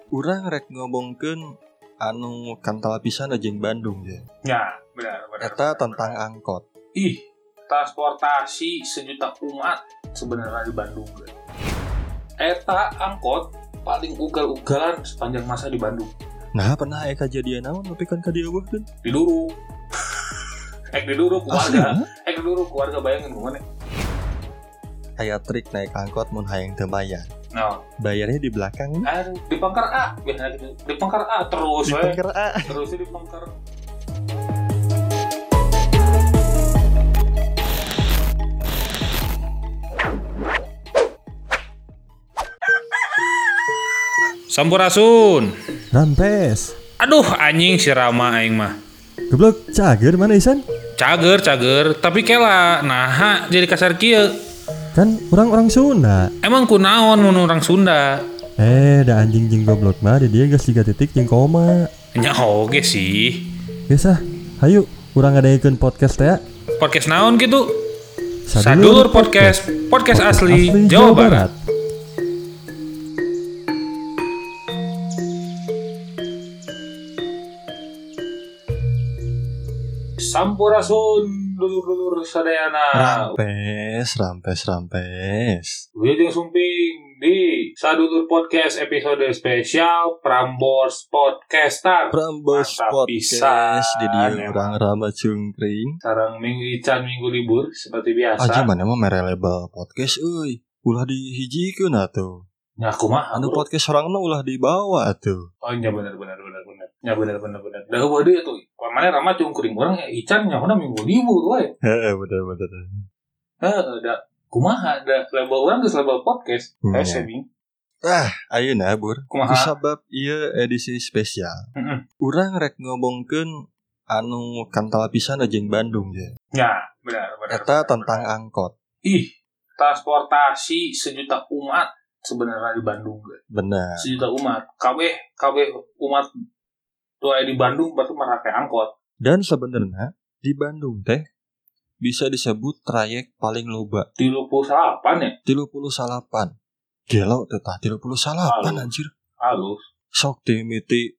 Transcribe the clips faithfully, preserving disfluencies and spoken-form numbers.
Urang rek ngomongkeun anu kantal pisan jeung Bandung ya. Ya, benar benar. Eta tentang angkot. Ih, transportasi sejuta umat sebenarnya di Bandung. Eta angkot paling ugal-ugalan sepanjang masa di Bandung. Nah, pernah aya kejadian naon tapi kan ka dieu eueuhkeun. Di Duru. Ek di Duru keluarga. Ek di Duru keluarga bayangin gimana? Aya trik naik angkot mun hayang teu bayar. Nah, Bayarnya di belakang. aduh, di pangkar A, biasanya gitu. Di pangkar A terus, Di we. pangkar A. Terusnya di pangkar. Sampurasun. Rampes. Aduh, anjing si Rama aing mah. Goblok cager mana isan? Cager, cager, tapi kela nah jadi kasar kieu. Kan orang-orang Sunda. Emang kunaon mun orang Sunda? Eh, da anjing jeung goblok mah di dieu geus tiga titik jeung koma. Nya oge sih. Geus ah, hayu urang ngadaikeun podcast teh. Podcast naon gitu? Sadulur podcast, podcast asli, asli Jawa, Jawa Barat. Barat. Sampurasun dulur-dulur sadayana. Rampes, rampes, rampes. Wilujeng sumping di Sadulur Podcast episode spesial Prambors Podcaster. Prambors Podcast di dia urang Rama Cungkring. Sareng minggu ican minggu libur seperti biasa. Aja mana mah mere label podcast euy. Ulah dihijikeun atuh. Nya kumaha? Anu podcast orangna ulah dibawa atuh. Oh nya bener bener bener bener. Nya bener bener bener. Da heueuh deui atuh. Pamane Rama Cungkring urang ican nya kuna minggu libur we. Heeh, bener bener. Heeh, da kumaha da label urang geus label podcast. Hmm. Saving. Ah, ayeuna Bur. Kumaha? Kusabab ieu edisi spesial. Heeh. Urang rek ngomongkeun anu kantal pisan jeung Bandung ya. Ya, benar benar. Eta benar, tentang benar. angkot. Ih, transportasi sejuta umat sebenarnya di Bandung. Benar. Sejuta umat. Kabeh kabeh umat tuh di Bandung berarti merake angkot. Dan sebenarnya di Bandung teh bisa disebut trayek paling loba. tilu puluh delapan ya? tilu puluh delapan. Gelo teh tah tilu puluh delapan anjir. Halus. Sok timiti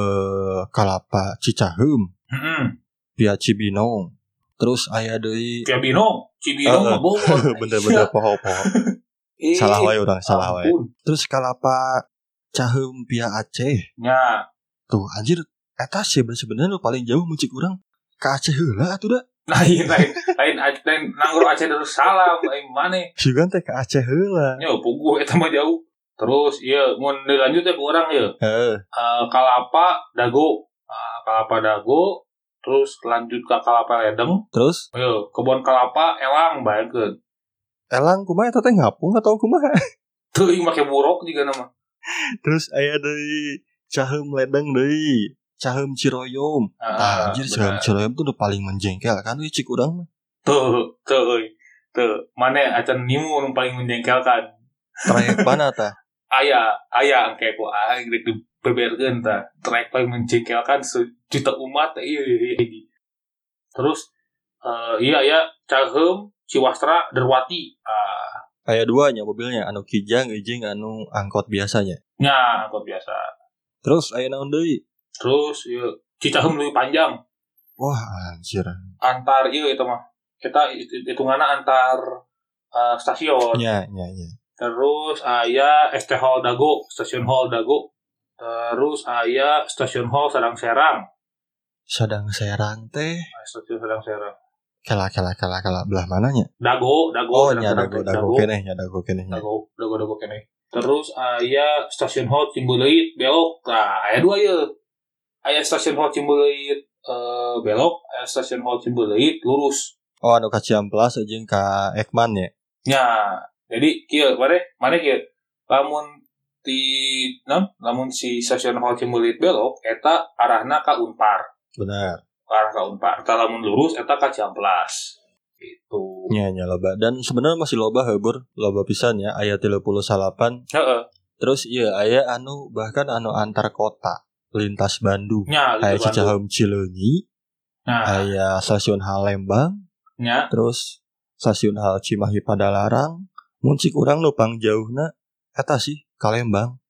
eh Kalapa Cicaheum. Heeh. Via Cibinong. Terus aya deui Via Binong, Cibinong mah Bogor. Bener-bener poho-poho. Eh, Salah wae urang, salah wae. ampun. Terus Kalapa Caheum via Aceh. Nya, Tuh anjir eta sih sebenarnya paling jauh muncik urang ka Aceh heula atuh da. lain lain lain lain nanggro Aceh Darussalam lain mane. Sigan teh ka Aceh heula. Nya puguh eta mah jauh. Terus ieu mun dilanjut teh ku urang ieu. Heeh. Uh, Kalapa Dago. Uh, Kalapa Dago terus lanjut ke Kalapa Ledeng. Terus Ayo, kebun kelapa elang baekeun. elang kumaha eta teh ngapung atau kumaha? Teuing make buruk juga nama. Terus aya deui Caheum Ledeng deui. Caheum Ciroyom. Ah, Anjir Caheum Ciroyom tuh udah paling menjengkelkan we cik urang mah. Tuh, tuh, tuh. Mane acan nimu nu paling menjengkelkan. Trayek mana tah? Aya, aya angke ku aing rek dibeberkeun tah. Trek paling menjengkelkan sejuta umat ieu ieu. Terus uh, iya ya Caheum Ciwastra Derwati. Ah, Aya dua nya mobilnya, anu kijang jeung anu angkot biasanya. nya angkot biasa. Terus aya naon deui? Terus ieu Cicaheum leuwih panjang. Wah, anjir. Antar ieu eta mah. Kita hitunganna antar uh, stasiun. Nya, nya, nya. Terus aya S T Hall Dago, stasiun Hall Dago. Terus aya stasiun Hall Sadang Serang. Sadang Serang teh. Stasiun Sadang Serang. Kela kela kela kela belah mananya? Dago, Dago, Oh, Sadang nya Serang dago teh, dago keneh, nya dago keneh. nya. Dago, Dago, Dago keneh. Terus aya stasiun Hall Cimbuleuit belok. Nah, aya dua ieu. Aya stasiun Hall Cimbuleuit uh, belok, aya stasiun Hall Cimbuleuit lurus. Oh, anu ka Ciamplas jeung ka Ekman nya. Nya, jadi kieu mane mane kieu. Lamun di non, lamun si stasiun Hall Cimbuleuit belok eta arahna ka Unpar. Benar. Arah ka Unpar. Eta lamun lurus eta ka Ciamplas. Gitu. Nya nya loba dan sebenarnya masih loba heubeur, loba pisan ya aya tilu puluh delapan. Heeh. Terus iya aya anu bahkan anu antar kota lintas Bandung. Nya, Aya gitu Cicaheum Cileunyi, Nah, aya stasiun Halembang, nya. terus stasiun Hal Cimahi Padalarang. Mun cik urang nu pangjauhna eta sih ka Lembang.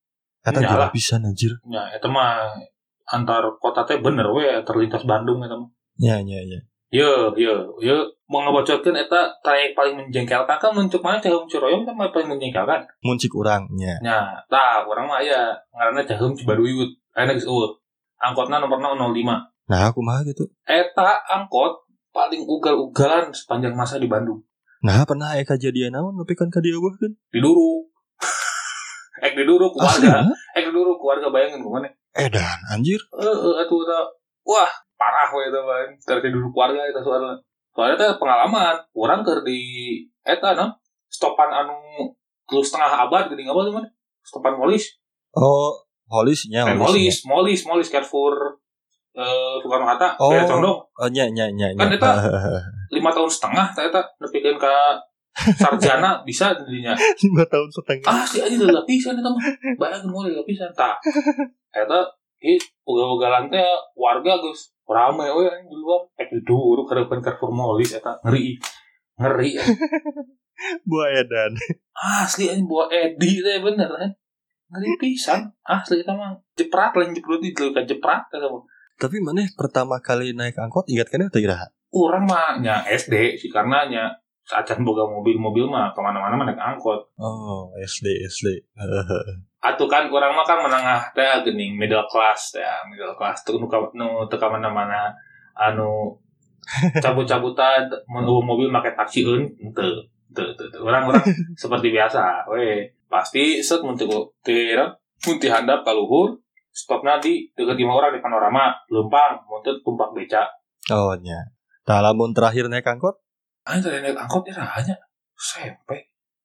Eta Nyalah. gila pisan anjir. Ya, eta mah antar kota teh bener we terlintas Bandung eta mah. Ya ya ya. Yo, yo, yo mau ngebocorkeun eta trayek paling menjengkelkan kan muncul mana Caheum Ciroyom kan paling menjengkelkan. Mun cik urang nya. Nya, tah urang mah aya ngaranna Caheum Cibaduy. Aya geus eueuh. Angkotna nomorna nol lima. Nah, aku mah gitu. Eta angkot paling ugal-ugalan sepanjang masa di Bandung. Nah, pernah aya kejadian naon tapi kan ka dieu kan. Di Duru. Ek di Duru keluarga. Asli, Ek di Duru keluarga bayangin kumana. edan anjir. Heeh, atuh eta. Wah, parah we eta mah. Terus di Duru keluarga eta soalna. Soalnya teh pengalaman, urang keur di eta non stopan anu terus setengah abad geuning apa tuh mana? Stopan Molis. Oh, Holisnya, Eh, Molis, Molis, Molis Carrefour eh Soekarno Hatta, Oh. kayak condong. Oh, nya nya nya. Kan nya. eta lima tahun setengah teh eta nepikeun ka sarjana bisa dinya. lima tahun setengah. Ah, si aja udah lapisan eta mah. Bayangin moal lapisan tah. Eta ieu ugal-ugalan teh warga geus rame we di luar. Eh di Duru kareupan Carrefour Molis eta ngeri. Ngeri. Buah edan. Asli anjing buah Edi teh bener kan. Ngeri pisan. Asli eta mah jeprat lain jeprat di ka jeprat eta mah. Tapi maneh pertama kali naik angkot ingat kan teh iraha? Urang mah nya S D sih karena nya saacan boga mobil-mobil mah kemana-mana mah naik angkot. Oh, S D S D. Atuh kan urang mah kan menengah teh geuning middle class teh, middle class teu nu ka nu teu ka mana-mana anu cabut-cabutan mun mobil make taksi eun teu teu teu urang-urang seperti biasa we pasti set mun teu teu mun ti handap ka luhur stopna di deket imah orang di panorama lempang mun teu tumpak beca. Oh, nya. Tah lamun terakhir naik angkot? Aing teh naik angkot ya hanya S M P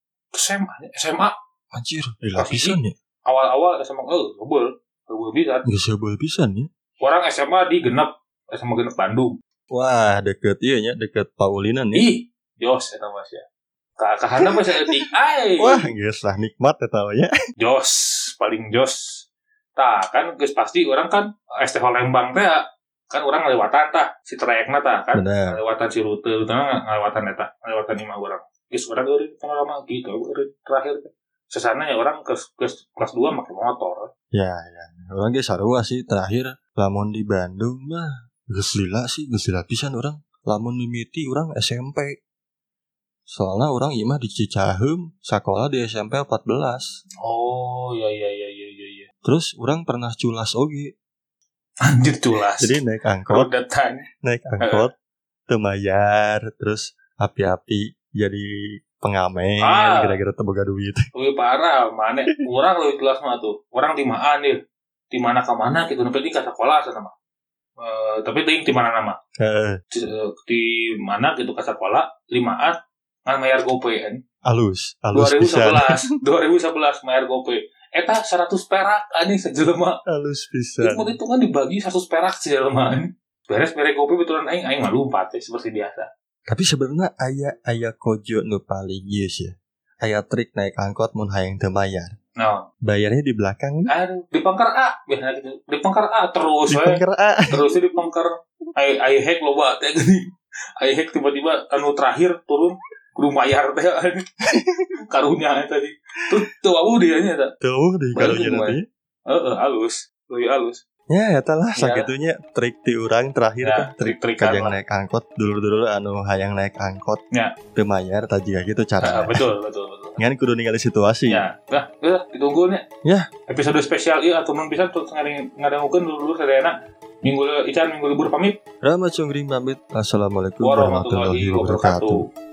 S M A S M A Anjir, gila pisan ya. awal-awal S M A eh gebel gebel pisan. Geus seubeuh pisan ya. Orang S M A di Genep S M A Genep Bandung. Wah, deket ieu nya, deket Paulinan ya. Ih, jos eta Mas ya. Ka ka handap mah saeutik ai. Wah, geus lah nikmat eta we nya. Jos, paling jos. Tah, kan geus pasti orang kan S T Lembang teh kan orang ngalewatan tah si trayekna tah kan. Bener. Ngalewatan si rute utama ngalewatan eta, ngalewatan imah urang. Geus urang eureun panorama gitu eureun terakhir teh. Sesana ya orang ke kelas kelas dua make motor. Ya, ya. Orang ge sarua sih terakhir lamun di Bandung mah geus lila sih, geus lila pisan urang. Lamun mimiti urang S M P. Soalnya orang imah di Cicaheum, sekolah di S M P empat belas. Oh, ya ya ya ya ya ya. Terus orang pernah culas oge. Anjir culas. Jadi naik angkot, roda tanya. naik angkot teu mayar, terus api-api jadi pengamen, Ah. kira-kira teu boga duit. Wih parah, mana orang lebih kelas mah tuh. Orang di maan nih, di mana ke mana gitu. Tapi di kata sekolah sana mah. Uh, tapi ting di mana nama? Heeh, Di, di mana gitu ke sekolah limaan ngan bayar GoPay kan. alus, alus pisan. dua ribu sebelas bayar GoPay. Eta seratus perak anjing sejelema. Alus pisan. Itu itu kan dibagi seratus perak sejelema anjing. Beres mere GoPay betulan aing aing mah lumpat ya, seperti biasa. Tapi sebenarnya aya aya kojo nu paling geus ya. Aya trik naik angkot mun hayang teu bayar. Nah, Bayarnya di belakang, aduh, di pangkar A biasanya gitu. Di pangkar A terus di we. pangker A. Terusnya di pangkar ai ai hack loba teh gini. Ai hack tiba-tiba anu terakhir turun kudu mayar teh karunya tadi. Tuh tuh awu dia nya eta. Tuh di karunya Bayar nanti. Heeh, halus. Leuwih halus. Ya, eta lah Ya. sakitunya trik ti urang terakhir Ya, teh. trik-trikan Kajang lah. naik angkot dulu-dulu anu hayang naik angkot. Ya. Teu mayar tah jiga gitu Ah, cara. betul, betul, betul. Ngan kudu ningali situasi. Ya, nah, udah ditunggu nya. Ya. Episode spesial ieu atuh mun bisa terus ngadangukeun dulu sadayana. Minggu Ican minggu libur pamit. Rama Cungring pamit. Assalamualaikum Warahmatullahi warahmatullahi wabarakatuh. wabarakatuh.